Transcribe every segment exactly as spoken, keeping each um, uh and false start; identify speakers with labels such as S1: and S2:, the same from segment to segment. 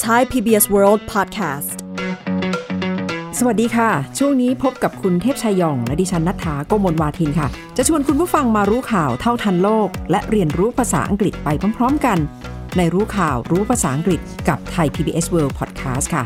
S1: Thai พี บี เอส World Podcast
S2: สวัสดีค่ะช่วงนี้พบกับคุณเทพชัยยองและดิฉันณัฐฐา โกมลวาทินค่ะจะชวนคุณผู้ฟังมารู้ข่าวเท่าทันโลกและเรียนรู้ภาษาอังกฤษไปพร้อมๆกันในรู้ข่าวรู้ภาษาอังกฤษกับ Thai พี บี เอส World Podcast ค่ะ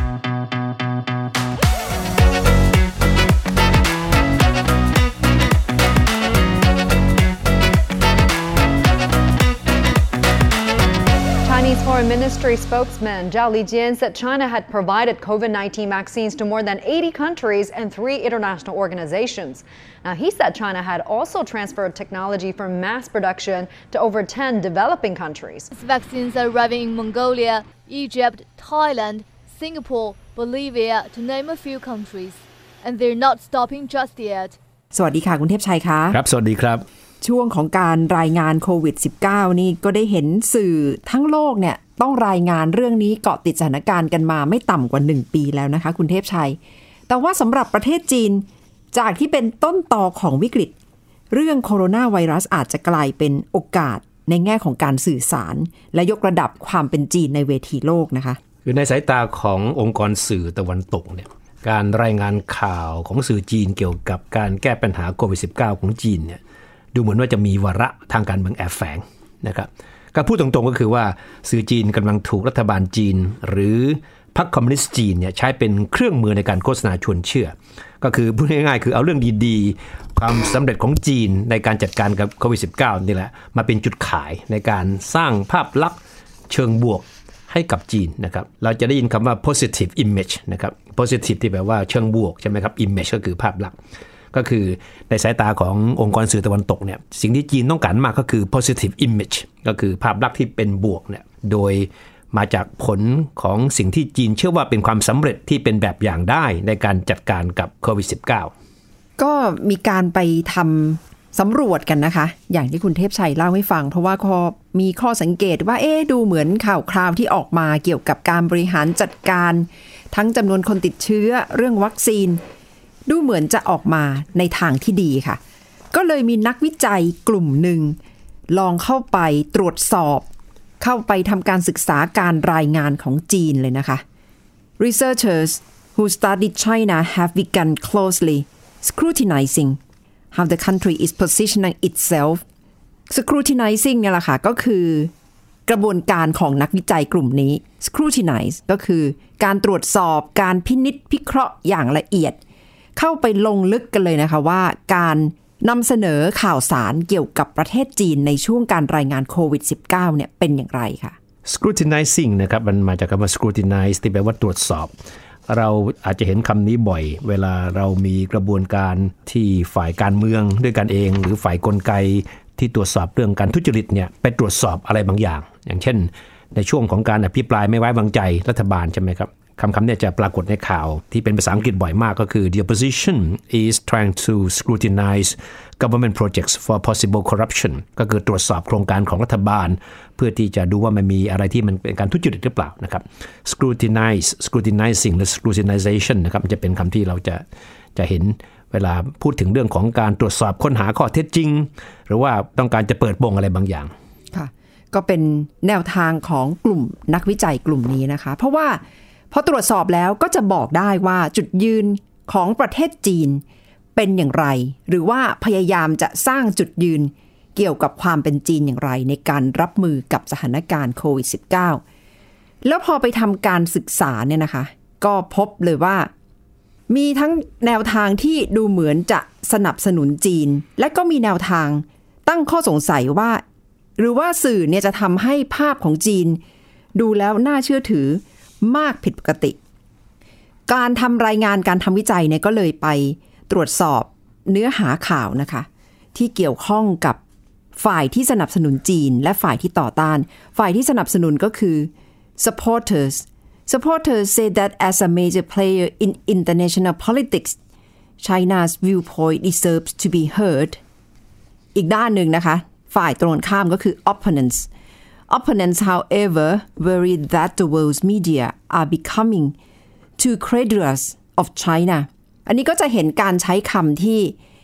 S3: Chinese Foreign Ministry spokesman Zhao Lijian said China had provided COVID nineteen vaccines to more than eighty countries and three international organizations. Now, he said China had also transferred technology for mass production to over ten developing countries.
S4: Vaccines are arriving in Mongolia, Egypt, Thailand, Singapore, Bolivia, to name a few countries. And they're not stopping just yet.
S2: สวัสดีค่ะคุณเทพชัยค่ะ
S5: ครับสวัสดีครับ
S2: ช่วงของการรายงานโควิด สิบเก้า นี่ก็ได้เห็นสื่อทั้งโลกเนี่ยต้องรายงานเรื่องนี้เกาะติดสถานการณ์กันมาไม่ต่ำกว่าหนึ่งปีแล้วนะคะคุณเทพชัยแต่ว่าสำหรับประเทศจีนจากที่เป็นต้นตอของวิกฤตเรื่องโคโรนาไวรัสอาจจะกลายเป็นโอกาสในแง่ของการสื่อสารและยกระดับความเป็นจีนในเวทีโลกนะคะ
S5: คือในสายตาขององค์กรสื่อตะวันตกเนี่ยการรายงานข่าวของสื่อจีนเกี่ยวกับการแก้ปัญหาโควิด สิบเก้า ของจีนเนี่ยดูเหมือนว่าจะมีวาระทางการเมืองแอบแฝงนะครับก็พูดตรงๆก็คือว่าสื่อจีนกำลังถูกรัฐบาลจีนหรือพรรคคอมมิวนิสต์จีนเนี่ยใช้เป็นเครื่องมือในการโฆษณาชวนเชื่อก็คือพูดง่ายๆคือเอาเรื่องดีๆความสำเร็จของจีนในการจัดการกับโควิด สิบเก้า นี่แหละมาเป็นจุดขายในการสร้างภาพลักษณ์เชิงบวกให้กับจีนนะครับเราจะได้ยินคำว่า positive image นะครับ positive ที่แปลว่าเชิงบวกใช่ไหมครับ image ก็คือภาพลักษณ์ก็คือในสายตาขององค์กรสื่อตะวันตกเนี่ยสิ่งที่จีนต้องการมากก็คือ positive image ก็คือภาพลักษณ์ที่เป็นบวกเนี่ยโดยมาจากผลของสิ่งที่จีนเชื่อว่าเป็นความสำเร็จที่เป็นแบบอย่างได้ในการจัดการกับโควิด สิบเก้า
S2: ก็มีการไปทำสำรวจกันนะคะอย่างที่คุณเทพชัยเล่าให้ฟังเพราะว่ามีข้อสังเกตว่าเอ๊ะดูเหมือนข่าวคราวที่ออกมาเกี่ยวกับการบริหารจัดการทั้งจำนวนคนติดเชื้อเรื่องวัคซีนดูเหมือนจะออกมาในทางที่ดีค่ะก็เลยมีนักวิจัยกลุ่มหนึ่งลองเข้าไปตรวจสอบเข้าไปทำการศึกษาการรายงานของจีนเลยนะคะ Researchers who studied China have begun closely scrutinizing how the country is positioning itself scrutinizing เนี่ยแหละค่ะก็คือกระบวนการของนักวิจัยกลุ่มนี้ scrutinize ก็คือการตรวจสอบการพินิจพิเคราะห์อย่างละเอียดเข้าไปลงลึกกันเลยนะคะว่าการนำเสนอข่าวสารเกี่ยวกับประเทศจีนในช่วงการรายงานโควิด สิบเก้า เนี่ยเป็นอย่างไรค่ะ
S5: scrutinizing นะครับมันมาจากคำว่า scrutinize ที่แปลว่าตรวจสอบเราอาจจะเห็นคำนี้บ่อยเวลาเรามีกระบวนการที่ฝ่ายการเมืองด้วยกันเองหรือฝ่ายกลไกที่ตรวจสอบเรื่องการทุจริตเนี่ยไปตรวจสอบอะไรบางอย่างอย่างเช่นในช่วงของการอภิปรายไม่ไว้วางใจรัฐบาลใช่ไหมครับคำคำนี้จะปรากฏในข่าวที่เป็นภาษาอังกฤษบ่อยมากก็คือ The opposition is trying to scrutinize government projects for possible corruption ก็คือตรวจสอบโครงการของรัฐบาลเพื่อที่จะดูว่ามันมีอะไรที่มันเป็นการทุจริตหรือเปล่านะครับ scrutinize scrutinizing หรือ scrutinization นะครับมันจะเป็นคำที่เราจะจะเห็นเวลาพูดถึงเรื่องของการตรวจสอบค้นหาข้อเท็จจริงหรือว่าต้องการจะเปิดโปงอะไรบางอย่าง
S2: ค่ะก็เป็นแนวทางของกลุ่มนักวิจัยกลุ่มนี้นะคะเพราะว่าพอตรวจสอบแล้วก็จะบอกได้ว่าจุดยืนของประเทศจีนเป็นอย่างไรหรือว่าพยายามจะสร้างจุดยืนเกี่ยวกับความเป็นจีนอย่างไรในการรับมือกับสถานการณ์โควิด สิบเก้า แล้วพอไปทำการศึกษาเนี่ยนะคะก็พบเลยว่ามีทั้งแนวทางที่ดูเหมือนจะสนับสนุนจีนและก็มีแนวทางตั้งข้อสงสัยว่าหรือว่าสื่อเนี่ยจะทำให้ภาพของจีนดูแล้วน่าเชื่อถือมากผิดปกติการทำรายงานการทำวิจัยเนี่ยก็เลยไปตรวจสอบเนื้อหาข่าวนะคะที่เกี่ยวข้องกับฝ่ายที่สนับสนุนจีนและฝ่ายที่ต่อต้านฝ่ายที่สนับสนุนก็คือ supporters supporters say that as a major player in international politics China's viewpoint deserves to be heard อีกด้านหนึ่งนะคะฝ่ายตรงข้ามก็คือ opponents Opponents, however, worry that the world's media are becoming too credulous of China. อันนี้ก็จะเห็นการใช้คำที่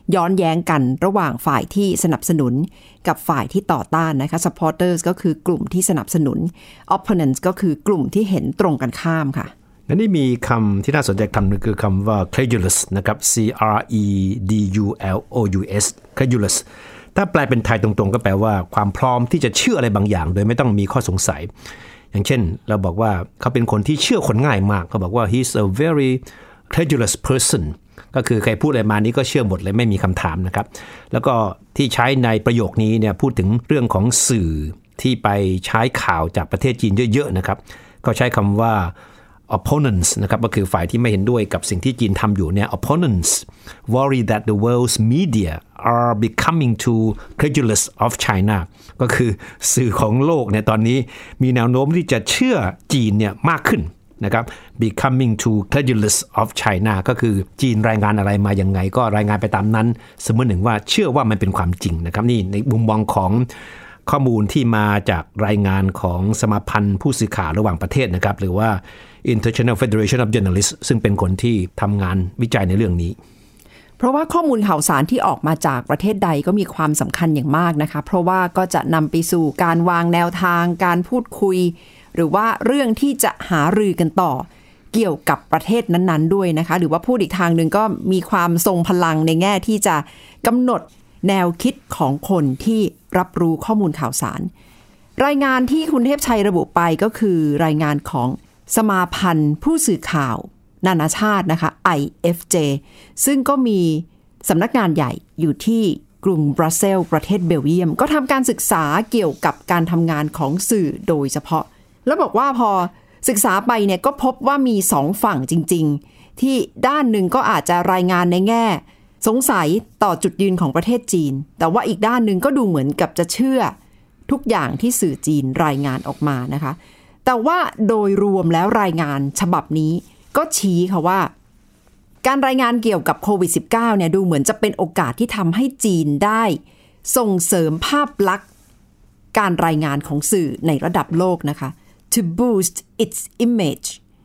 S2: ย้อนแย้งกันระหว่างฝ่ายที่สนับสนุนกับฝ่ายที่ต่อต้านนะคะ supporters ก็คือกลุ่มที่สนับสนุน opponents ก็คือกลุ่มที่เห็นตรงกันข้ามค่ะ
S5: และนี่มีคำที่น่าสนใจคำนึงคือคำว่า credulous นะครับ C R E D U L O U S credulous ถ้าแปลเป็นไทยตรงๆก็แปลว่าความพร้อมที่จะเชื่ออะไรบางอย่างโดยไม่ต้องมีข้อสงสัยอย่างเช่นเราบอกว่าเขาเป็นคนที่เชื่อคนง่ายมากเขาบอกว่า he's a very credulous person ก็คือใครพูดอะไรมานี้ก็เชื่อหมดเลยไม่มีคำถามนะครับแล้วก็ที่ใช้ในประโยคนี้เนี่ยพูดถึงเรื่องของสื่อที่ไปใช้ข่าวจากประเทศจีนเยอะๆนะครับก็ใช้คำว่า opponents นะครับก็คือฝ่ายที่ไม่เห็นด้วยกับสิ่งที่จีนทำอยู่เนี่ย opponents worry that the world's media are becoming too credulous of China ก็คือสื่อของโลกเนี่ยตอนนี้มีแนวโน้มที่จะเชื่อจีนเนี่ยมากขึ้นนะครับ becoming too credulous of China ก็คือจีนรายงานอะไรมายังไงก็รายงานไปตามนั้นเสมือนหนึ่งว่าเชื่อว่ามันเป็นความจริงนะครับนี่ในมุมมองของข้อมูลที่มาจากรายงานของสมาพันธ์ผู้สื่อข่าวระหว่างประเทศนะครับหรือว่า International Federation of Journalists ซึ่งเป็นคนที่ทำงานวิจัยในเรื่องนี้
S2: เพราะว่าข้อมูลข่าวสารที่ออกมาจากประเทศใดก็มีความสำคัญอย่างมากนะคะเพราะว่าก็จะนำไปสู่การวางแนวทางการพูดคุยหรือว่าเรื่องที่จะหารือกันต่อเกี่ยวกับประเทศนั้นๆด้วยนะคะหรือว่าพูดอีกทางหนึ่งก็มีความทรงพลังในแง่ที่จะกำหนดแนวคิดของคนที่รับรู้ข้อมูลข่าวสารรายงานที่คุณเทพชัยระบุไปก็คือรายงานของสมาพันธ์ผู้สื่อข่าวนานาชาตินะคะ ไอ เอฟ เจ ซึ่งก็มีสำนักงานใหญ่อยู่ที่กรุงบรัสเซลส์ประเทศเบลเยียมก็ทำการศึกษาเกี่ยวกับการทำงานของสื่อโดยเฉพาะแล้วบอกว่าพอศึกษาไปเนี่ยก็พบว่ามีสองฝั่งจริงๆที่ด้านหนึ่งก็อาจจะรายงานในแง่สงสัยต่อจุดยืนของประเทศจีนแต่ว่าอีกด้านหนึ่งก็ดูเหมือนกับจะเชื่อทุกอย่างที่สื่อจีนรายงานออกมานะคะแต่ว่าโดยรวมแล้วรายงานฉบับนี้ก็ชี้ค่ะว่าการรายงานเกี่ยวกับโควิด สิบเก้า เนี่ยดูเหมือนจะเป็นโอกาสที่ทำให้จีนได้ส่งเสริมภาพลักษณ์การรายงานของสื่อในระดับโลกนะคะ to boost its image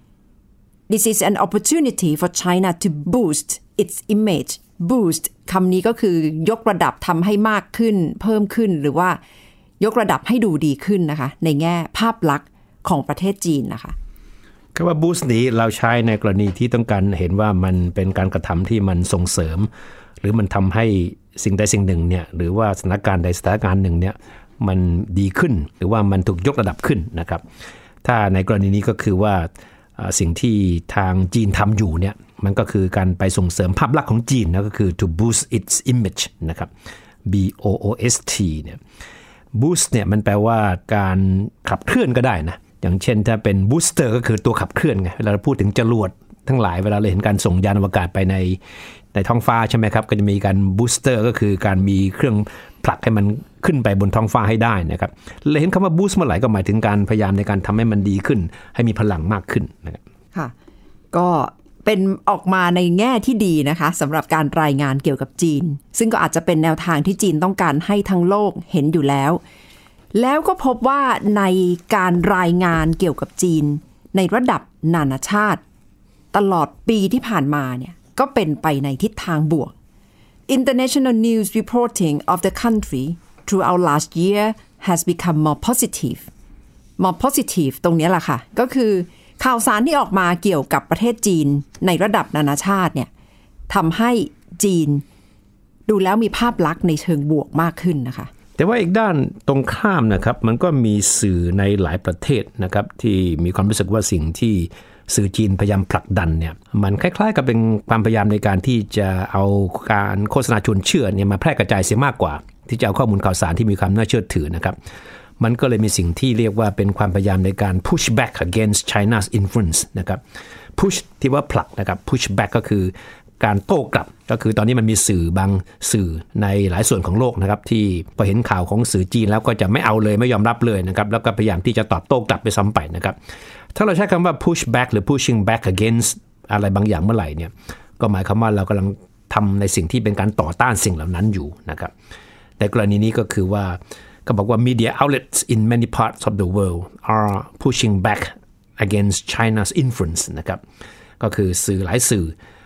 S2: this is an opportunity for China to boost its image boost คำนี้ก็คือยกระดับทำให้มากขึ้นเพิ่มขึ้นหรือว่ายกระดับให้ดูดีขึ้นนะคะในแง่ภาพลักษณ์ของประเทศจีนนะคะ
S5: คำว่า boost นี้เราใช้ในกรณีที่ต้องการเห็นว่ามันเป็นการกระทำที่มันส่งเสริมหรือมันทำให้สิ่งใดสิ่งหนึ่งเนี่ยหรือว่าสถานการณ์ใดสถานการณ์หนึ่งเนี่ยมันดีขึ้นหรือว่ามันถูกยกระดับขึ้นนะครับถ้าในกรณีนี้ก็คือว่าสิ่งที่ทางจีนทำอยู่เนี่ยมันก็คือการไปส่งเสริมภาพลักษณ์ของจีนนะก็คือ to boost its image นะครับ B O O S T เนี่ย boost เนี่ยมันแปลว่าการขับเคลื่อนก็ได้นะอย่างเช่นถ้าเป็น booster ก็คือตัวขับเคลื่อนไงเวลาเราพูดถึงจรวดทั้งหลายเวลาเราเห็นการส่งยานอวกาศไปในในท้องฟ้าใช่ไหมครับก็จะมีการ booster ก็คือการมีเครื่องผลักให้มันขึ้นไปบนท้องฟ้าให้ได้นะครับเราเห็นคำว่า boost เมื่อไหร่ก็หมายถึงการพยายามในการทำให้มันดีขึ้นให้มีพลังมากขึ้นนะครับ
S2: ค่ะก็เป็นออกมาในแง่ที่ดีนะคะสำหรับการรายงานเกี่ยวกับจีนซึ่งก็อาจจะเป็นแนวทางที่จีนต้องการให้ทั้งโลกเห็นอยู่แล้วแล้วก็พบว่าในการรายงานเกี่ยวกับจีนในระดับนานาชาติตลอดปีที่ผ่านมาเนี่ยก็เป็นไปในทิศทางบวก International news reporting of the country throughout last year has become more positive more positive ตรงนี้แหละค่ะก็คือข่าวสารที่ออกมาเกี่ยวกับประเทศจีนในระดับนานาชาติเนี่ยทำให้จีนดูแล้วมีภาพลักษณ์ในเชิงบวกมากขึ้นนะคะ
S5: แต่ว่าอีกด้านตรงข้ามนะครับมันก็มีสื่อในหลายประเทศนะครับที่มีความรู้สึกว่าสิ่งที่สื่อจีนพยายามผลักดันเนี่ยมันคล้ายๆกับเป็นความพยายามในการที่จะเอาการโฆษณาชวนเชื่อเนี่ยมาแพร่กระจายเสียมากกว่าที่จะเอาข้อมูลข่าวสารที่มีความน่าเชื่อถือนะครับมันก็เลยมีสิ่งที่เรียกว่าเป็นความพยายามในการ push back against China's influence นะครับ push ที่ว่าผลักนะครับ push back ก็คือการโต้กลับก็คือตอนนี้มันมีสื่อบางสื่อในหลายส่วนของโลกนะครับที่พอเห็นข่าวของสื่อจีนแล้วก็จะไม่เอาเลยไม่ยอมรับเลยนะครับแล้วก็พยายามที่จะตอบโต้กลับไปซ้ำไปนะครับถ้าเราใช้คำว่า push back หรือ pushing back against อะไรบางอย่างเมื่อไหร่เนี่ยก็หมายความว่าเรากำลังทำในสิ่งที่เป็นการต่อต้านสิ่งเหล่านั้นอยู่นะครับแต่กรณีนี้ก็คือว่าก็บอกว่า media outlets in many parts of the world are pushing back against China's influence นะครับก็คือสื่อหลายสื่อ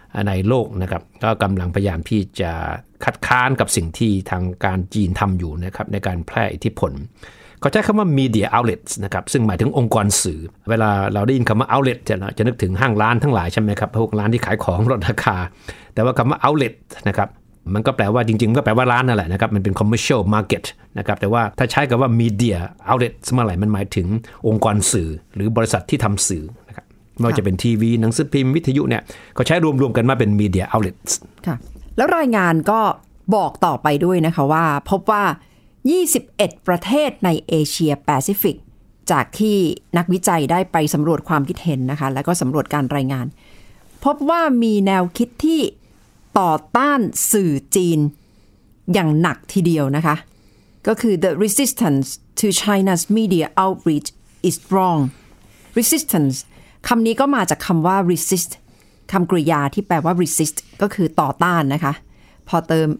S5: ในโลกนะครับก็กำลังพยายามที่จะคัดค้านกับสิ่งที่ทางการจีนทำอยู่นะครับในการแพร่อิทธิพลเขาใช้คำว่า media outlets นะครับซึ่งหมายถึงองค์กรสื่อเวลาเราได้ยินคำว่า outlet จะจะนึกถึงห้างร้านทั้งหลายใช่ไหมครับพวกร้านที่ขายของลดราคาแต่ว่าคำว่า outlet นะครับมันก็แปลว่าจริงๆก็แปลว่าร้านนั่นแหละนะครับมันเป็น commercial market นะครับแต่ว่าถ้าใช้คำว่า media outlet เมื่อไหร่มันหมายถึงองค์กรสื่อหรือบริษัทที่ทำสื่อนะครับไม่ว่าจะเป็นทีวีหนังสือพิมพ์วิทยุเนี่ยก็ใช้รวมๆกันมาเป็น media outlets
S2: ค่ะแล้วรายงานก็บอกต่อไปด้วยนะคะว่าพบว่ายี่สิบเอ็ดประเทศในเอเชียแปซิฟิกจากที่นักวิจัยได้ไปสำรวจความคิดเห็นนะคะแล้วก็สำรวจการรายงานพบว่ามีแนวคิดที่ต่อต้านสื่อจีนอย่างหนักทีเดียวนะคะก็คือ the resistance to China's media outreach is strong resistance คำนี้ก็มาจากคำว่า resist คำกริยาที่แปลว่า resist ก็คือต่อต้านนะคะพอเติม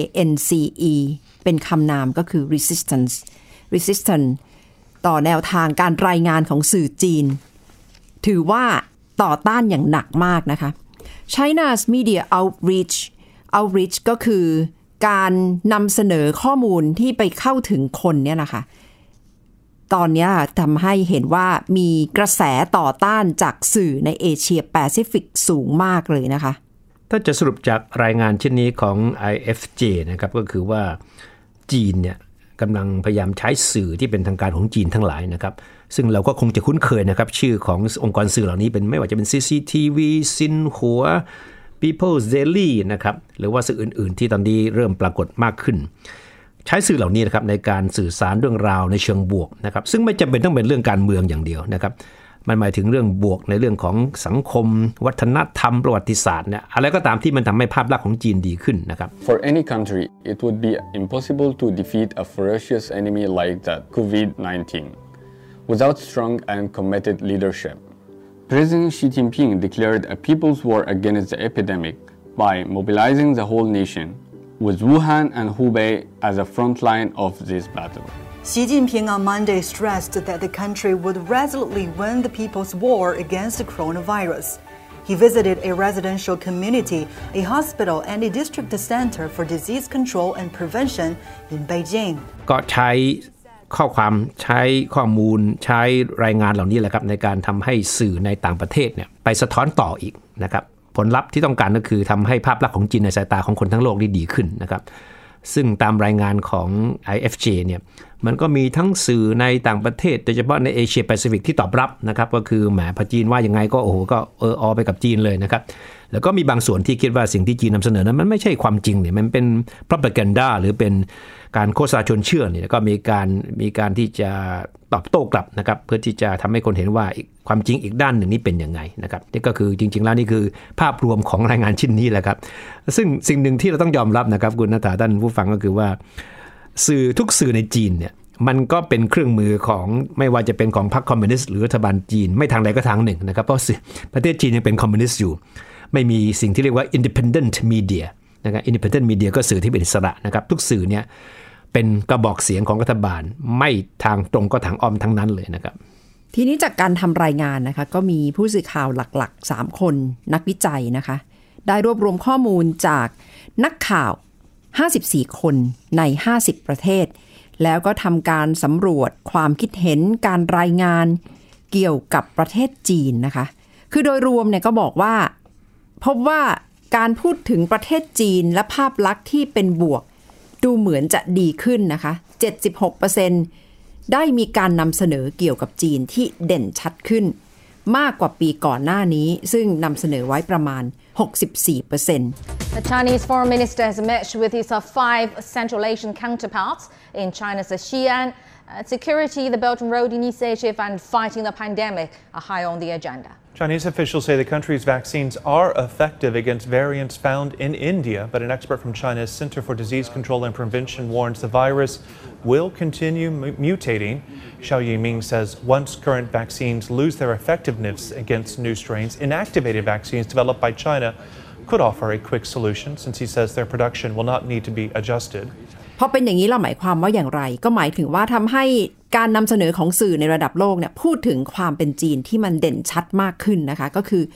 S2: ance เป็นคำนามก็คือ resistance resistance ต่อแนวทางการรายงานของสื่อจีนถือว่าต่อต้านอย่างหนักมากนะคะ China's media outreach outreach ก็คือการนำเสนอข้อมูลที่ไปเข้าถึงคนเนี่ยนะคะตอนนี้ทำให้เห็นว่ามีกระแสต่อต้านจากสื่อในเอเชียแปซิฟิกสูงมากเลยนะคะ
S5: ถ้าจะสรุปจากรายงานเช่นนี้ของ ไอ เอฟ เจ นะครับก็คือว่าจีนเนี่ยกำลังพยายามใช้สื่อที่เป็นทางการของจีนทั้งหลายนะครับซึ่งเราก็คงจะคุ้นเคยนะครับชื่อขององค์กรสื่อเหล่านี้เป็นไม่ว่าจะเป็น ซี ซี ที วี ซินหัว People's Daily นะครับหรือว่าสื่ออื่นๆที่ตอนนี้เริ่มปรากฏมากขึ้นใช้สื่อเหล่านี้นะครับในการสื่อสารเรื่องราวในเชิงบวกนะครับซึ่งไม่จำเป็นต้องเป็นเรื่องการเมืองอย่างเดียวนะครับมันหมายถึงเรื่องบวกในเรื่องของสังคมวัฒนธรรมประวัติศาสตร์เนี่ยอะไรก็ตามที่มันทำให้ภาพลักษณ์ของจีนดีขึ้นนะครับ
S6: For any country it would be impossible to defeat a ferocious enemy like the COVID nineteen without strong and committed leadership. President Xi Jinping declared a people's war against the epidemic by mobilizing the whole nation with Wuhan and Hubei as a front line of this battle.
S7: Xi Jinping on Monday stressed that the country would resolutely win the people's war against the coronavirus. He visited a residential community, a hospital, and a district center for disease control and prevention in Beijing.
S5: ก็ใช้ข้อความใช้ข้อมูลใช้รายงานเหล่านี้แหละครับในการทำให้สื่อในต่างประเทศเนี่ยไปสะท้อนต่ออีกนะครับผลลัพธ์ที่ต้องการก็คือทำให้ภาพลักษณ์ของจีนในสายตาของคนทั้งโลกได้ดีขึ้นนะครับซึ่งตามรายงานของ ไอ เอฟ เจ เนี่ยมันก็มีทั้งสื่อในต่างประเทศโดยเฉพาะในเอเชียแปซิฟิกที่ตอบรับนะครับก็คือแหมพอจีนว่ายังไงก็โอ้โหก็เอออไปกับจีนเลยนะครับแล้วก็มีบางส่วนที่คิดว่าสิ่งที่จีนนำเสนอนั้นมันไม่ใช่ความจริงเนี่ยมันเป็น propaganda หรือเป็นการโฆษณาชวนเชื่อเนี่ยก็มีการมีการที่จะตอบโต้กลับนะครับเพื่อที่จะทำให้คนเห็นว่าความจริงอีกด้านหนึ่งนี่เป็นยังไงนะครับนี่ก็คือจริงๆแล้วนี่คือภาพรวมของรายงานชิ้นนี้แหละครับซึ่งสิ่งหนึ่งที่เราต้องยอมรับนะครับคุณณฐาท่านผู้ฟังก็คือว่าสื่อทุกสื่อในจีนเนี่ยมันก็เป็นเครื่องมือของไม่ว่าจะเป็นของพรรคคอมมิวนิสต์หรือรัฐบาลจีนไม่ทางใดก็ทางหนึ่งนะครับเพราะประเทศจีนยังเป็นคอมมิวนิสต์อยู่ไม่มีสิ่งที่เรียกว่า independent media นะครับ independent media ก็สื่อที่เป็นอิสระนะครับทุกสื่อเนี่ยเป็นกระบอกเสียงของรัฐบาลไม่ทางตรงก็ทางอ้อมทั้งนั้นเลยนะครับ
S2: ทีนี้จากการทำรายงานนะคะก็มีผู้สื่อข่าวหลักๆสามคนนักวิจัยนะคะได้รวบรวมข้อมูลจากนักข่าวห้าสิบสี่คนในห้าสิบประเทศแล้วก็ทำการสำรวจความคิดเห็นการรายงานเกี่ยวกับประเทศจีนนะคะคือโดยรวมเนี่ยก็บอกว่าพบว่าการพูดถึงประเทศจีนและภาพลักษณ์ที่เป็นบวกดูเหมือนจะดีขึ้นนะคะ เจ็ดสิบหกเปอร์เซ็นต์ ได้มีการนำเสนอเกี่ยวกับจีนที่เด่นชัดขึ้นมากกว่าปีก่อนหน้านี้ซึ่งนำเสนอไว้ประมาณ หกสิบสี่เปอร์เซ็นต์
S8: The Chinese foreign minister has met with his five Central Asian counterparts in China's Xi'an. Security, the Belt and Road Initiative, and fighting the pandemic are high on the agenda.
S9: Chinese officials say the country's vaccines are effective against variants found in India, but an expert from China's Center for Disease Control and Prevention warns the virus will continue m- mutating. Xiao Yiming says once current vaccines lose their effectiveness against new strains, inactivated vaccines developed by China could offer a quick solution, since he says their production will not need to be adjusted.
S2: พอเป็นอย่างนี้เราหมายความว่าอย่างไรก็หมายถึงว่าทำให้การนำเสนอของสื่อในระดับโลกเนี่ยพูดถึงความเป็นจีนที่มันเด่นชัดมากขึ้นนะคะก็คือ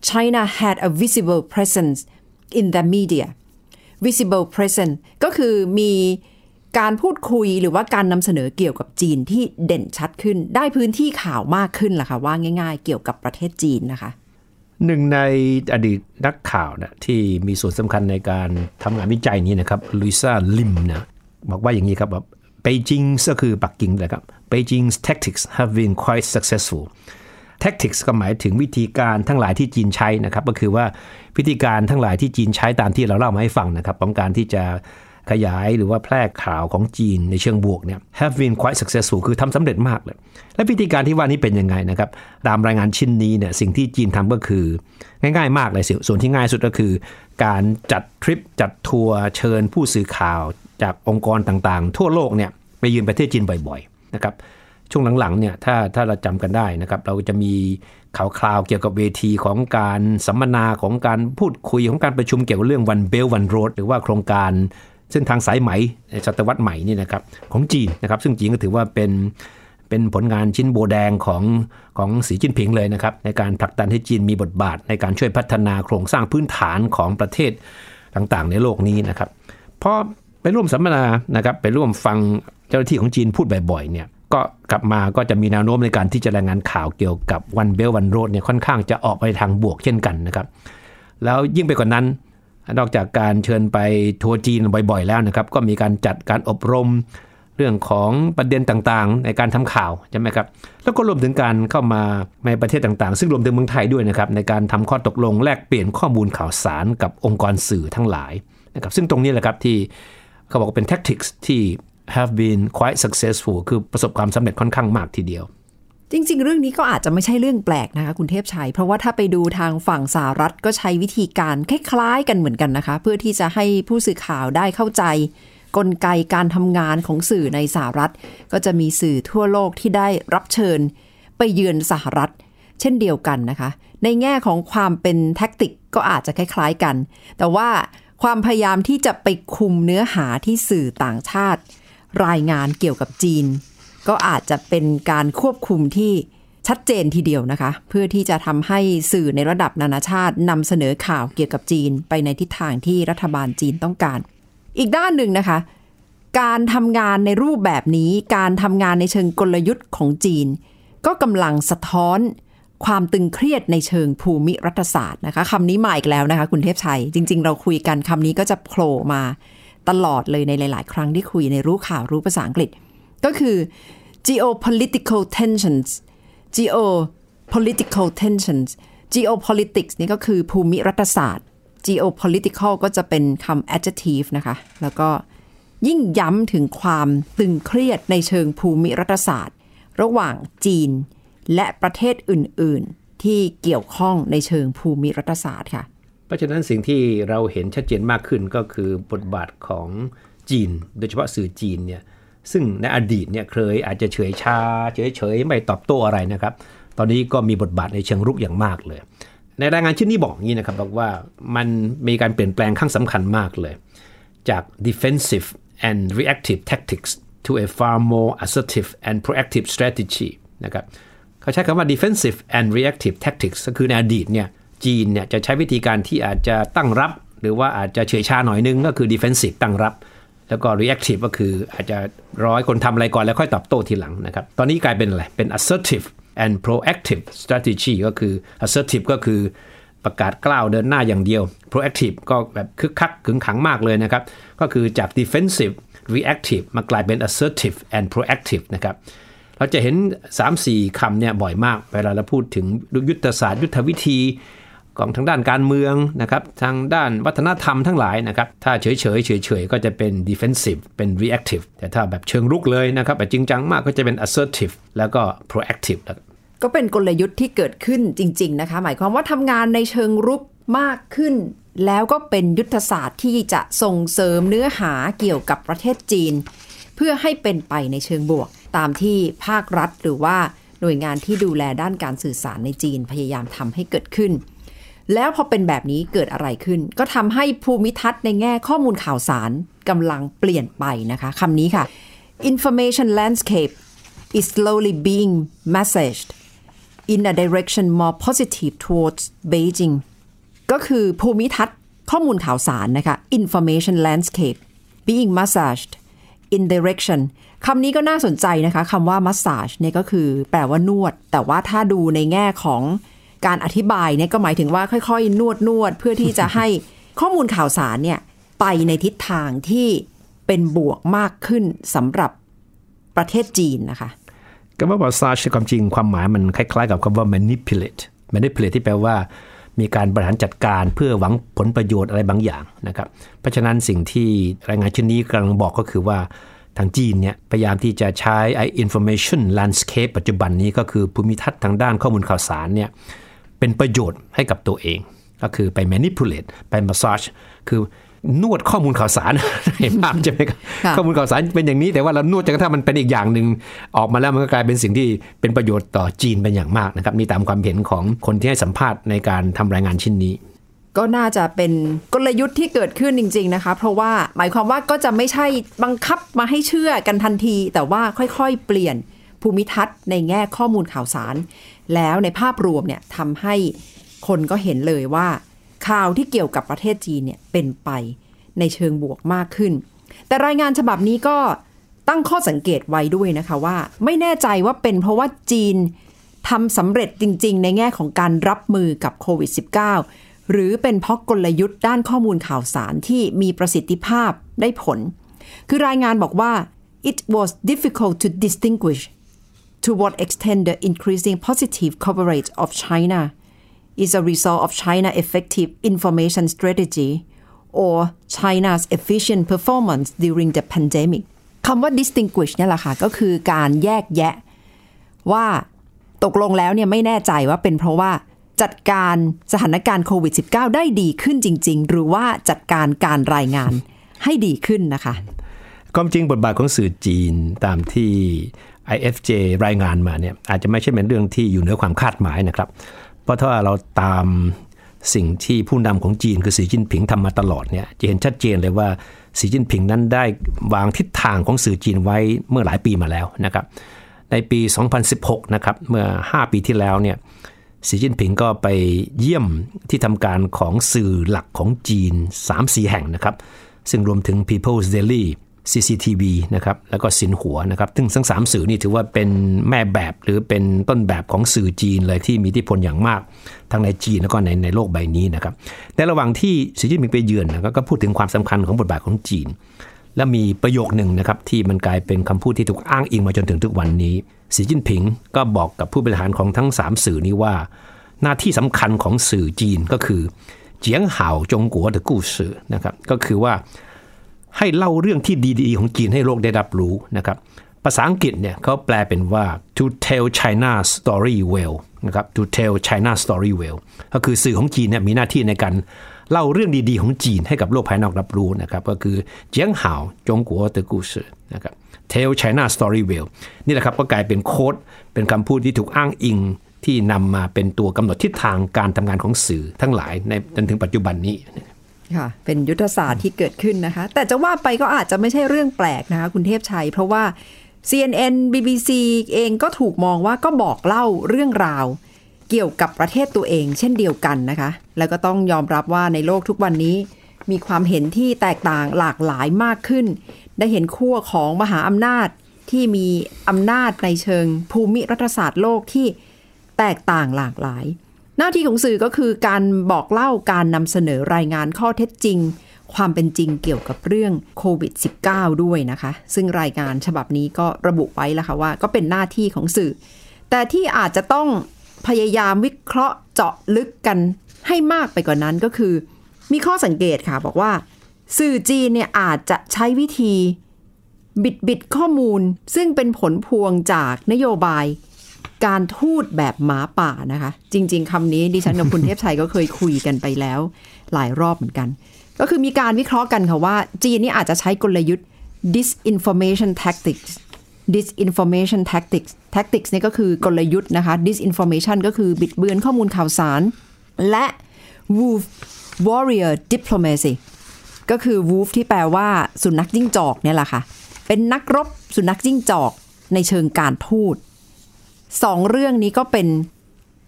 S2: China had a visible presence in the media visible presence ก็คือมีการพูดคุยหรือว่าการนำเสนอเกี่ยวกับจีนที่เด่นชัดขึ้นได้พื้นที่ข่าวมากขึ้นล่ะค่ะว่าง่ายๆเกี่ยวกับประเทศจีนนะคะ
S5: หนึ่งในอดีตนักข่าวนะที่มีส่วนสำคัญในการทำงานวิจัยนี้นะครับลุยซ่าลิมนะบอกว่าอย่างนี้ครับว่า Beijing ก็คือปักกิ่งนะครับ Beijing's tactics have been quite successful tactics ก็หมายถึงวิธีการทั้งหลายที่จีนใช้นะครับก็คือว่าวิธีการทั้งหลายที่จีนใช้ตามที่เราเล่ามาให้ฟังนะครับของการที่จะขยายหรือว่าแพร่ข่าวของจีนในเชิงบวกเนี่ย have been quite successful คือทำสำเร็จมากเลยและวิธีการที่ว่านี้เป็นยังไงนะครับตามรายงานชิ้นนี้เนี่ยสิ่งที่จีนทำก็คือง่ายๆมากเลยส่วนที่ง่ายสุดก็คือการจัดทริปจัดทัวร์เชิญผู้สื่อข่าวจากองค์กรต่างๆทั่วโลกเนี่ยไปเยือนประเทศจีนบ่อยๆนะครับช่วงหลังๆเนี่ยถ้าถ้าเราจำกันได้นะครับเราจะมีข่าวคราวเกี่ยวกับเวทีของการสัมมนาของการพูดคุยของการประชุมเกี่ยวกับเรื่อง One Belt One Road หรือว่าโครงการเส้นทางสายไหมในศตวรรษใหม่นี่นะครับของจีนนะครับซึ่งจีนก็ถือว่าเป็นเป็นผลงานชิ้นโบแดงของของสีจิ้นผิงเลยนะครับในการผลักดันให้จีนมีบทบาทในการช่วยพัฒนาโครงสร้างพื้นฐานของประเทศต่างๆในโลกนี้นะครับพอไปร่วมสัมมนานะครับไปร่วมฟังเจ้าหน้าที่ของจีนพูดบ่อยๆเนี่ยก็กลับมาก็จะมีแนวโน้มในการที่จะรายงานข่าวเกี่ยวกับ One Belt One Road เนี่ยค่อนข้างจะออกไปทางบวกเช่นกันนะครับแล้วยิ่งไปกว่านั้นนอกจากการเชิญไปทัวร์จีนบ่อยๆแล้วนะครับก็มีการจัดการอบรมเรื่องของประเด็นต่างๆในการทำข่าวใช่ไหมครับแล้วก็รวมถึงการเข้ามาในประเทศต่างๆซึ่งรวมถึงเมืองไทยด้วยนะครับในการทำข้อตกลงแลกเปลี่ยนข้อมูลข่าวสารกับองค์กรสื่อทั้งหลายนะครับซึ่งตรงนี้แหละครับที่เขาบอกว่าเป็น tactics ที่ have been quite successful คือประสบความสำเร็จค่อนข้างมากทีเดียว
S2: จริงๆเรื่องนี้ก็อาจจะไม่ใช่เรื่องแปลกนะคะคุณเทพชัยเพราะว่าถ้าไปดูทางฝั่งสหรัฐก็ใช้วิธีการคล้ายๆกันเหมือนกันนะคะเพื่อที่จะให้ผู้สื่อข่าวได้เข้าใจกลไกการทำงานของสื่อในสหรัฐก็จะมีสื่อทั่วโลกที่ได้รับเชิญไปเยือนสหรัฐเช่นเดียวกันนะคะในแง่ของความเป็นแท็กติกก็อาจจะคล้ายๆกันแต่ว่าความพยายามที่จะไปคุมเนื้อหาที่สื่อต่างชาติรายงานเกี่ยวกับจีนก็อาจจะเป็นการควบคุมที่ชัดเจนทีเดียวนะคะเพื่อที่จะทำให้สื่อในระดับนานาชาตินำเสนอข่าวเกี่ยวกับจีนไปในทิศทางที่รัฐบาลจีนต้องการอีกด้านหนึ่งนะคะการทำงานในรูปแบบนี้การทำงานในเชิงกลยุทธ์ของจีนก็กำลังสะท้อนความตึงเครียดในเชิงภูมิรัฐศาสตร์นะคะคำนี้มาอีกแล้วนะคะคุณเทพชัยจริงๆเราคุยกันคำนี้ก็จะโผล่มาตลอดเลยในหลายๆครั้งที่คุยในรู้ข่าวรู้ภาษาอังกฤษก็คือ geopolitical tensions geopolitical tensions geopolitics นี่ก็คือภูมิรัฐศาสตร์ geopolitical ก็จะเป็นคำ adjective นะคะแล้วก็ยิ่งย้ำถึงความตึงเครียดในเชิงภูมิรัฐศาสตร์ระหว่างจีนและประเทศอื่นๆที่เกี่ยวข้องในเชิงภูมิรัฐศาสตร์ค่ะ
S5: เพราะฉะนั้นสิ่งที่เราเห็นชัดเจนมากขึ้นก็คือบทบาทของจีนโดยเฉพาะสื่อจีนเนี่ยซึ่งในอดีตเนี่ยเคยอาจจะเฉยชาเฉยๆไม่ตอบโต้อะไรนะครับตอนนี้ก็มีบทบาทในเชิงรุกอย่างมากเลยในรายงานชิ้นนี้บอกงี้นะครับบอกว่ามันมีการเปลี่ยนแปลงครั้งสำคัญมากเลยจาก defensive and reactive tactics to a far more assertive and proactive strategy นะครับเขาใช้คำว่า defensive and reactive tactics ก็คือในอดีตเนี่ยจีนเนี่ยจะใช้วิธีการที่อาจจะตั้งรับหรือว่าอาจจะเฉยชาหน่อยนึงก็คือ defensive ตั้งรับแล้วก็ reactive ก็คืออาจจะรอให้คนทำอะไรก่อนแล้วค่อยตอบโต้ทีหลังนะครับตอนนี้กลายเป็นอะไรเป็น assertive and proactive strategy ก็คือ assertive ก็คือประกาศกล้าวเดินหน้าอย่างเดียว proactive ก็แบบคึกคักขึงขังมากเลยนะครับก็คือจาก defensive reactive มากลายเป็น assertive and proactive นะครับเราจะเห็น สามสี่ คำเนี่ยบ่อยมากเวลาเราพูดถึงยุทธศาสตร์ยุทธวิธีของทางด้านการเมืองนะครับทางด้านวัฒนธรรมทั้งหลายนะครับถ้าเฉยๆเฉยๆก็จะเป็น defensive เป็น reactive แต่ถ้าแบบเชิงรุกเลยนะครับแบบจริงจังมากก็จะเป็น assertive แล้วก็ proactive
S2: ก็เป็นกลยุทธ์ที่เกิดขึ้นจริงๆนะคะหมายความว่าทำงานในเชิงรุกมากขึ้นแล้วก็เป็นยุทธศาสตร์ที่จะส่งเสริมเนื้อหาเกี่ยวกับประเทศจีนเพื่อให้เป็นไปในเชิงบวกตามที่ภาครัฐหรือว่าหน่วยงานที่ดูแลด้านการสื่อสารในจีนพยายามทำให้เกิดขึ้นแล้วพอเป็นแบบนี้เกิดอะไรขึ้นก็ทำให้ภูมิทัศน์ในแง่ข้อมูลข่าวสารกำลังเปลี่ยนไปนะคะคำนี้ค่ะ information landscape is slowly being massaged in a direction more positive towards Beijing ก็คือภูมิทัศน์ข้อมูลข่าวสารนะคะ information landscape being massaged in direction คำนี้ก็น่าสนใจนะคะคำว่า massage เนี่ยก็คือแปลว่านวดแต่ว่าถ้าดูในแง่ของการอธิบายเนี่ยก็หมายถึงว่าค่อยๆนวดนวดเพื่อที่จะให้ข้อมูลข่าวสารเนี่ยไปในทิศทางที่เป็นบวกมากขึ้นสำหรับประเทศจีนนะคะ
S5: คำว่า massage ความจริงความหมายมันคล้ายๆกับคำว่า manipulate manipulate ที่แปลว่ามีการบริหารจัดการเพื่อหวังผลประโยชน์อะไรบางอย่างนะครับเพราะฉะนั้นสิ่งที่รายงานชิ้นนี้กำลังบอกก็คือว่าทางจีนเนี่ยพยายามที่จะใช้ไอ้ information landscape ปัจจุบันนี้ก็คือภูมิทัศน์ทางด้านข้อมูลข่าวสารเนี่ยเป็นประโยชน์ให้กับตัวเองก็คือไป manipulate ไป massage คือนวดข้อมูลข่าวสารเห็นภาพใช่ไหมครับข้อมูลข่าวสารเป็นอย่างนี้แต่ว่าเรานวดจนกระทั่งมันเป็นอีกอย่างนึงออกมาแล้วมันก็กลายเป็นสิ่งที่เป็นประโยชน์ต่อจีนเป็นอย่างมากนะครับนี่ตามความเห็นของคนที่ให้สัมภาษณ์ในการทำรายงานชิ้นนี้
S2: ก็น่าจะเป็นกลยุทธ์ที่เกิดขึ้นจริงๆนะคะเพราะว่าหมายความว่าก็จะไม่ใช่บังคับมาให้เชื่อกันทันทีแต่ว่าค่อยๆเปลี่ยนภูมิทัศน์ในแง่ข้อมูลข่าวสารแล้วในภาพรวมเนี่ยทำให้คนก็เห็นเลยว่าข่าวที่เกี่ยวกับประเทศจีนเนี่ยเป็นไปในเชิงบวกมากขึ้นแต่รายงานฉบับนี้ก็ตั้งข้อสังเกตไว้ด้วยนะคะว่าไม่แน่ใจว่าเป็นเพราะว่าจีนทำสำเร็จจริงๆในแง่ของการรับมือกับโควิด สิบเก้า หรือเป็นเพราะกลยุทธ์ด้านข้อมูลข่าวสารที่มีประสิทธิภาพได้ผลคือรายงานบอกว่า it was difficult to distinguish to what extent the increasing positive coverage of China is a result of China's effective information strategy or China's efficient performance during the pandemic คำว่า distinguish เนี่ยแหละค่ะก็คือการแยกแยะว่าตกลงแล้วเนี่ยไม่แน่ใจว่าเป็นเพราะว่าจัดการสถานการณ์โควิด สิบเก้า ได้ดีขึ้นจริงๆหรือว่าจัดการการรายงานให้ดีขึ้นนะคะ
S5: ความจริงบทบาทของสื่อจีนตามที่ ไอ เอฟ เจ รายงานมาเนี่ยอาจจะไม่ใช่เป็นเรื่องที่อยู่เหนือความคาดหมายนะครับเพราะถ้าเราตามสิ่งที่ผู้นำของจีนคือสีจิ้นผิงทำมาตลอดเนี่ยจะเห็นชัดเจนเลยว่าสีจิ้นผิงนั้นได้วางทิศทางของสื่อจีนไว้เมื่อหลายปีมาแล้วนะครับในปีสองพันสิบหกนะครับเมื่อห้าปีที่แล้วเนี่ยสีจิ้นผิงก็ไปเยี่ยมที่ทำการของสื่อหลักของจีน สามสี่ แห่งนะครับซึ่งรวมถึง People's Daily ซี ซี ที วี นะครับแล้วก็ซินหัวนะครับซึ่งทั้งสามสื่อนี่ถือว่าเป็นแม่แบบหรือเป็นต้นแบบของสื่อจีนเลยที่มีอิทธิพลอย่างมากทั้งในจีนแล้วก็ในในโลกใบนี้นะครับในระหว่างที่สีจิ้นผิงไปเยือนนะก็พูดถึงความสำคัญของบทบาทของจีนและมีประโยคหนึ่งนะครับที่มันกลายเป็นคำพูดที่ถูกอ้างอิงมาจนถึงทุกวันนี้สีจิ้นผิงก็บอกกับผู้บริหารของทั้งสามสื่อนี้ว่าหน้าที่สำคัญของสื่อจีนก็คือเจียงห่าวจงกัวเดอกู้สื่อนะครับก็คือว่าให้เล่าเรื่องที่ดีๆของจีนให้โลกได้รับรู้นะครับภาษาอังกฤษเนี่ยเขาแปลเป็นว่า to tell China's story well นะครับ to tell China's story well ก็คือสื่อของจีนเนี่ยมีหน้าที่ในการเล่าเรื่องดีๆของจีนให้กับโลกภายนอกรับรู้นะครับก็คือเจียงห่าวจงกัวเดอกู้สื่อนะครับ tell China's story well นี่แหละครับก็กลายเป็นโค้ดเป็นคำพูดที่ถูกอ้างอิงที่นำมาเป็นตัวกำหนดทิศทางการทำงานของสื่อทั้งหลายในจนถึงปัจจุบันนี้
S2: ค่ะเป็นยุทธศาสตร์ที่เกิดขึ้นนะคะแต่จะว่าไปก็อาจจะไม่ใช่เรื่องแปลกนะคะคุณเทพชัยเพราะว่า ซี เอ็น เอ็น บี บี ซี เองก็ถูกมองว่าก็บอกเล่าเรื่องราวเกี่ยวกับประเทศตัวเองเช่นเดียวกันนะคะแล้วก็ต้องยอมรับว่าในโลกทุกวันนี้มีความเห็นที่แตกต่างหลากหลายมากขึ้นได้เห็นขั้วของมหาอำนาจที่มีอำนาจในเชิงภูมิรัฐศาสตร์โลกที่แตกต่างหลากหลายหน้าที่ของสื่อก็คือการบอกเล่าการนำเสนอรายงานข้อเท็จจริงความเป็นจริงเกี่ยวกับเรื่องโควิด สิบเก้า ด้วยนะคะซึ่งรายงานฉบับนี้ก็ระบุไว้แล้วค่ะว่าก็เป็นหน้าที่ของสื่อแต่ที่อาจจะต้องพยายามวิเคราะห์เจาะลึกกันให้มากไปกว่านั้นก็คือมีข้อสังเกตค่ะบอกว่าสื่อจีนเนี่ยอาจจะใช้วิธีบิดบิดข้อมูลซึ่งเป็นผลพวงจากนโยบายการทูตแบบหมาป่านะคะจริงๆคำนี้ดิฉันกับคุณเทพชัยก็เคยคุยกันไปแล้วหลายรอบเหมือนกันก็คือมีการวิเคราะห์กันค่ะว่าจีนนี่อาจจะใช้กลยุทธ์ disinformation tactics disinformation tactics tactics นี่ก็คือกลยุทธ์นะคะ disinformation ก็คือบิดเบือนข้อมูลข่าวสารและ wolf warrior diplomacy ก็คือ wolf ที่แปลว่าสุนัขจิ้งจอกเนี่ยแหละค่ะเป็นนักรบสุนัขจิ้งจอกในเชิงการทูตสองเรื่องนี้ก็เป็น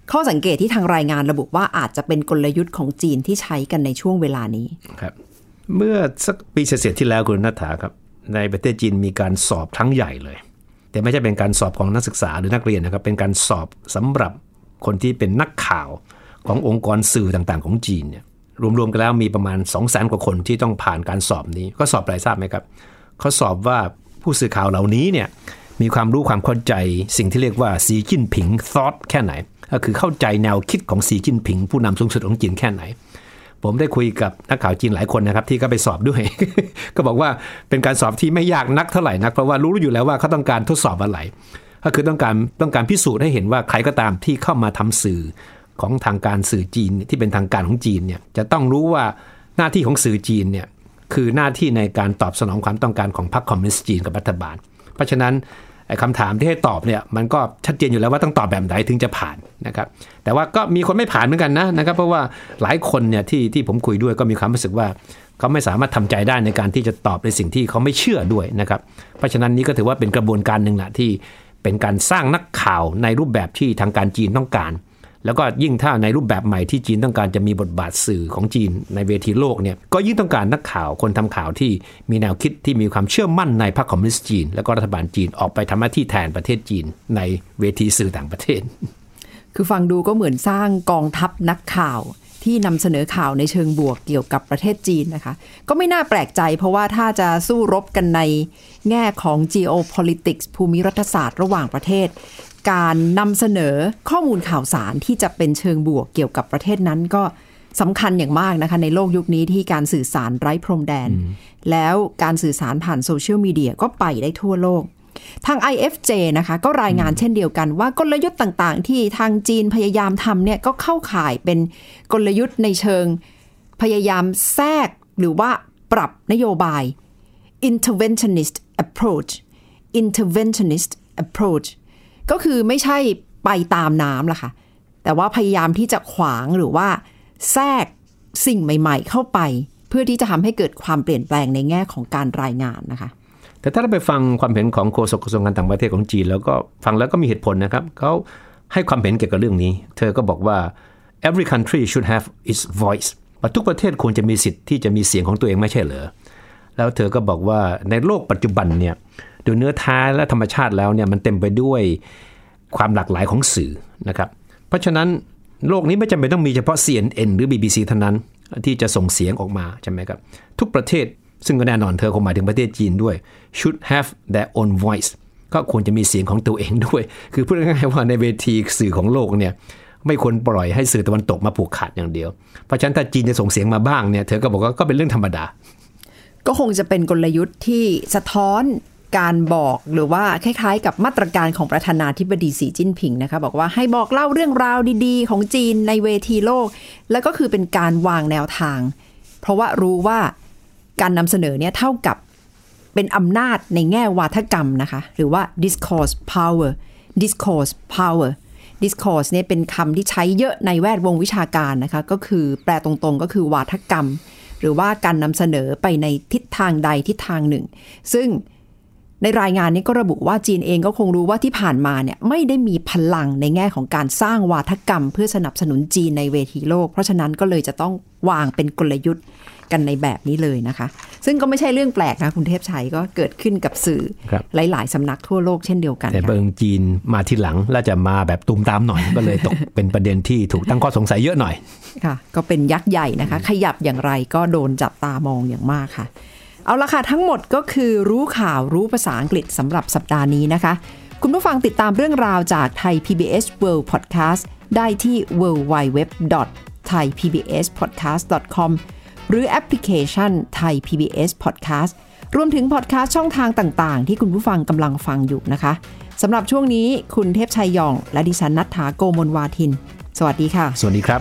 S2: ข้อสังเกตที่ทางรายงานระบุว่าอาจจะเป็นกลยุทธ์ของจีนที่ใช้กันในช่วงเวลานี้
S5: ครับเมื่อสักปีเศษๆที่แล้วคุณณัฐฐาครับในประเทศจีนมีการสอบครั้งใหญ่เลยแต่ไม่ใช่เป็นการสอบของนักศึกษาหรือนักเรียนนะครับเป็นการสอบสำหรับคนที่เป็นนักข่าวขององค์กรสื่อต่างๆของจีนเนี่ยรวมๆกันแล้วมีประมาณ สองแสน กว่าคนที่ต้องผ่านการสอบนี้ก็สอบอะไรทราบไหมครับเขาสอบว่าผู้สื่อข่าวเหล่านี้เนี่ยมีความรู้ความเข้าใจสิ่งที่เรียกว่าสีจิ้นผิง thought แค่ไหนก็คือเข้าใจแนวคิดของสีจิ้นผิงผู้นำสูงสุดของจีนแค่ไหนผมได้คุยกับนักข่าวจีนหลายคนนะครับที่ก็ไปสอบด้วย ก็บอกว่าเป็นการสอบที่ไม่ยากนักเท่าไหร่นักเพราะว่ารู้อยู่แล้วว่าเขาต้องการทดสอบอะไรก็คือต้องการต้องการพิสูจน์ให้เห็นว่าใครก็ตามที่เข้ามาทำสื่อของทางการสื่อจีนที่เป็นทางการของจีนเนี่ยจะต้องรู้ว่าหน้าที่ของสื่อจีนเนี่ยคือหน้าที่ในการตอบสนองความต้องการของพรรคคอมมิวนิสต์จีนกับรัฐบาลเพราะฉะนั้นไอ้คำถามที่ให้ตอบเนี่ยมันก็ชัดเจนอยู่แล้วว่าต้องตอบแบบไหนถึงจะผ่านนะครับแต่ว่าก็มีคนไม่ผ่านเหมือนกันนะนะครับเพราะว่าหลายคนเนี่ยที่ที่ผมคุยด้วยก็มีความรู้สึกว่าเขาไม่สามารถทำใจได้ในการที่จะตอบในสิ่งที่เขาไม่เชื่อด้วยนะครับเพราะฉะนั้นนี้ก็ถือว่าเป็นกระบวนการหนึ่งแหละที่เป็นการสร้างนักข่าวในรูปแบบที่ทางการจีนต้องการแล้วก็ยิ่งถ้าในรูปแบบใหม่ที่จีนต้องการจะมีบทบาทสื่อของจีนในเวทีโลกเนี่ยก็ยิ่งต้องการนักข่าวคนทำข่าวที่มีแนวคิดที่มีความเชื่อมั่นในพรรคคอมมิวนิสต์จีนและก็รัฐบาลจีนออกไปทำหน้าที่แทนประเทศจีนในเวทีสื่อต่างประเทศ
S2: คือฟังดูก็เหมือนสร้างกองทัพนักข่าวที่นำเสนอข่าวในเชิงบวกเกี่ยวกับประเทศจีนนะคะก็ไม่น่าแปลกใจเพราะว่าถ้าจะสู้รบกันในแง่ของ geopolitics ภูมิรัฐศาสตร์ระหว่างประเทศการนำเสนอข้อมูลข่าวสารที่จะเป็นเชิงบวกเกี่ยวกับประเทศนั้นก็สำคัญอย่างมากนะคะในโลกยุคนี้ที่การสื่อสารไร้พรมแดนแล้วการสื่อสารผ่านโซเชียลมีเดียก็ไปได้ทั่วโลกทาง ไอ เอฟ เจ นะคะก็รายงานเช่นเดียวกันว่ากลยุทธ์ต่างๆที่ทางจีนพยายามทำเนี่ยก็เข้าข่ายเป็นกลยุทธ์ในเชิงพยายามแทรกหรือว่าปรับนโยบาย interventionist approach interventionist approachก็คือไม่ใช่ไปตามน้ำล่ะค่ะแต่ว่าพยายามที่จะขวางหรือว่าแทรกสิ่งใหม่ๆเข้าไปเพื่อที่จะทำให้เกิดความเปลี่ยนแปลงในแง่ของการรายงานนะคะ
S5: แต่ถ้าเราไปฟังความเห็นของโฆษกกระทรวงการต่างประเทศของจีนแล้วก็ฟังแล้วก็มีเหตุผลนะครับเขาให้ความเห็นเกี่ยวกับเรื่องนี้เธอก็บอกว่า every country should have its voice ว่าทุกประเทศควรจะมีสิทธิ์ที่จะมีเสียงของตัวเองไม่ใช่เหรอแล้วเธอก็บอกว่าในโลกปัจจุบันเนี่ยโดยเนื้อแท้และธรรมชาติแล้วเนี่ยมันเต็มไปด้วยความหลากหลายของสื่อนะครับเพราะฉะนั้นโลกนี้ไม่จำเป็นต้องมีเฉพาะ ซี เอ็น เอ็น หรือ บี บี ซี เท่านั้นที่จะส่งเสียงออกมาใช่ไหมครับทุกประเทศซึ่งก็แน่นอนเธอคงหมายถึงประเทศจีนด้วย should have their own voice ก็ควรจะมีเสียงของตัวเองด้วยคือพูดง่ายๆว่าในเวทีสื่อของโลกเนี่ยไม่ควรปล่อยให้สื่อตะวันตกมาผูกขาดอย่างเดียวเพราะฉะนั้นถ้าจีนจะส่งเสียงมาบ้างเนี่ยเธอก็บอกว่าก็เป็นเรื่องธรรมดา
S2: ก็คงจะเป็นกลยุทธ์ที่สะท้อนการบอกหรือว่าคล้ายๆกับมาตรการของประธานาธิบดีสีจิ้นผิงนะคะบอกว่าให้บอกเล่าเรื่องราวดีๆของจีนในเวทีโลกแล้วก็คือเป็นการวางแนวทางเพราะว่ารู้ว่าการนำเสนอเนี่ยเท่ากับเป็นอำนาจในแง่วาทกรรมนะคะหรือว่า discourse power discourse power discourse เนี่ยเป็นคำที่ใช้เยอะในแวดวงวิชาการนะคะก็คือแปลตรงๆก็คือวาทกรรมหรือว่าการนำเสนอไปในทิศทางใดทิศทางหนึ่งซึ่งในรายงานนี้ก็ระบุว่าจีนเองก็คงรู้ว่าที่ผ่านมาเนี่ยไม่ได้มีพลังในแง่ของการสร้างวาทกรรมเพื่อสนับสนุนจีนในเวทีโลกเพราะฉะนั้นก็เลยจะต้องวางเป็นกลยุทธ์กันในแบบนี้เลยนะคะซึ่งก็ไม่ใช่เรื่องแปลกนะคุณเทพชัยก็เกิดขึ้นกับสื่อหลายๆสำนักทั่วโลกเช่นเดียวกัน
S5: แต่เบิงจีนมาทีหลังแล้วจะมาแบบตูมตามหน่อย ก็เลยตกเป็นประเด็นที่ถูกตั้งข้อสงสัยเยอะหน่อย
S2: ค่ะก็เป็นยักษ์ใหญ่นะคะขยับอย่างไรก็โดนจับตามองอย่างมากค่ะเอาละค่ะทั้งหมดก็คือรู้ข่าวรู้ภาษาอังกฤษสำหรับสัปดาห์นี้นะคะคุณผู้ฟังติดตามเรื่องราวจากไทย พี บี เอส World Podcast ได้ที่ ดับเบิลยู ดับเบิลยู ดับเบิลยู ดอท ไทย พี บี เอส พอดแคสต์ ดอท คอม หรือแอปพลิเคชัน Thai พี บี เอส Podcast รวมถึงพอดแคสต์ช่องทางต่างๆที่คุณผู้ฟังกำลังฟังอยู่นะคะสำหรับช่วงนี้คุณเทพชัยยองและดิฉันณัฐฐา โกมลวาทินสวัสดีค่ะ
S5: สวัสดีครับ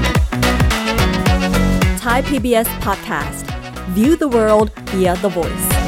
S1: Thai พี บี เอส Podcast View the world via the voice